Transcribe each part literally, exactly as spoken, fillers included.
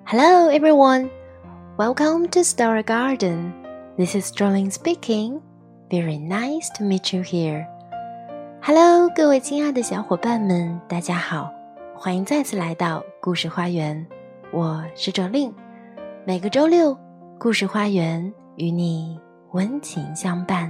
Hello everyone, welcome to Story Garden. This is Jolene speaking. Very nice to meet you here. Hello, 各位亲爱的小伙伴们，大家好，欢迎再次来到故事花园。我是 Jolene， 每个周六，故事花园与你温情相伴。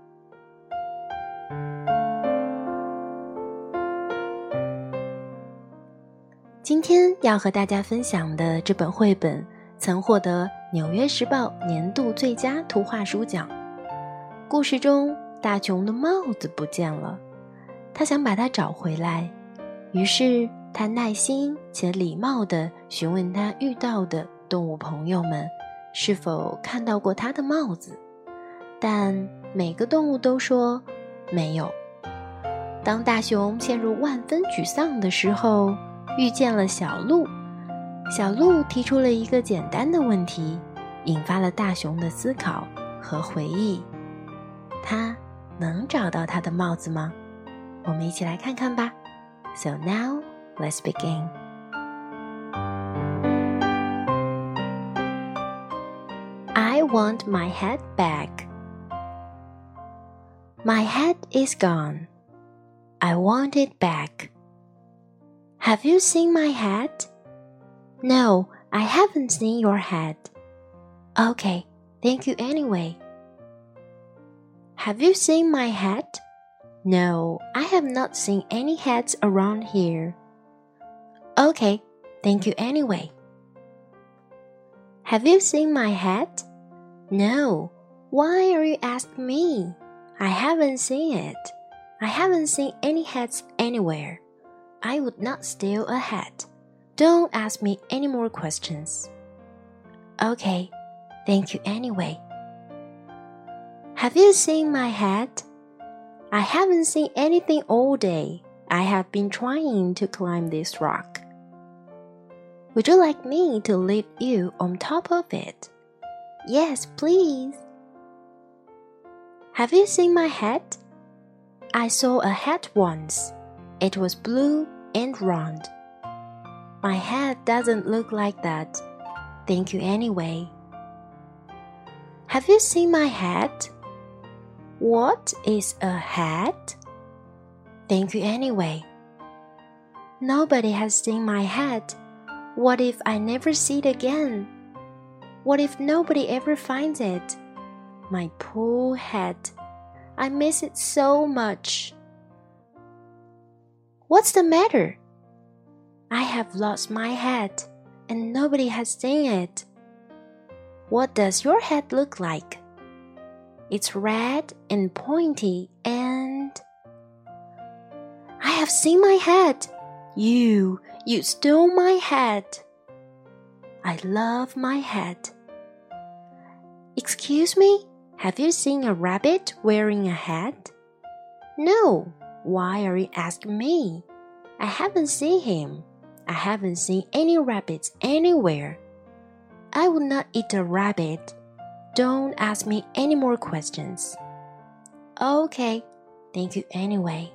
今天要和大家分享的这本绘本曾获得纽约时报年度最佳图画书奖。故事中大熊的帽子不见了，他想把它找回来，于是他耐心且礼貌地询问他遇到的动物朋友们是否看到过他的帽子，但每个动物都说没有。当大熊陷入万分沮丧的时候，遇见了小鹿，小鹿提出了一个简单的问题，引发了大熊的思考和回忆。他能找到他的帽子吗？我们一起来看看吧。So now, let's begin. I want my hat back. My hat is gone. I want it back.Have you seen my hat? No, I haven't seen your hat. Okay, thank you anyway. Have you seen my hat? No, I have not seen any hats around here. Okay, thank you anyway. Have you seen my hat? No, why are you asking me? I haven't seen it. I haven't seen any hats anywhere.I would not steal a hat. Don't ask me any more questions. Okay, thank you anyway. Have you seen my hat? I haven't seen anything all day. I have been trying to climb this rock. Would you like me to lift you on top of it? Yes, please. Have you seen my hat? I saw a hat once. It was blue.And round. My hat doesn't look like that. Thank you anyway. Have you seen my hat? What is a hat? Thank you anyway. Nobody has seen my hat. What if I never see it again? What if nobody ever finds it? My poor hat. I miss it so much.What's the matter? I have lost my hat, and nobody has seen it. What does your hat look like? It's red and pointy and... I have seen my hat! You, you stole my hat! I love my hat. Excuse me? Have you seen a rabbit wearing a hat? No.Why are you asking me? I haven't seen him. I haven't seen any rabbits anywhere. I would not eat a rabbit. Don't ask me any more questions. Okay, thank you anyway.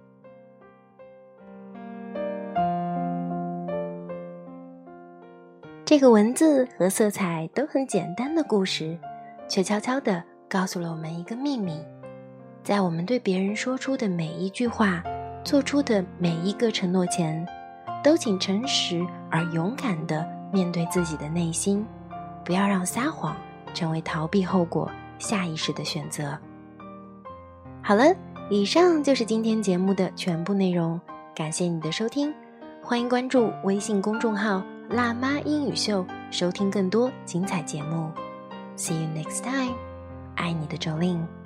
这个文字和色彩都很简单的故事，却悄悄地告诉了我们一个秘密。在我们对别人说出的每一句话，做出的每一个承诺前，都请诚实而勇敢地面对自己的内心，不要让撒谎成为逃避后果下意识的选择。好了，以上就是今天节目的全部内容，感谢你的收听，欢迎关注微信公众号辣妈英语秀，收听更多精彩节目。See you next time， 爱你的Jolene。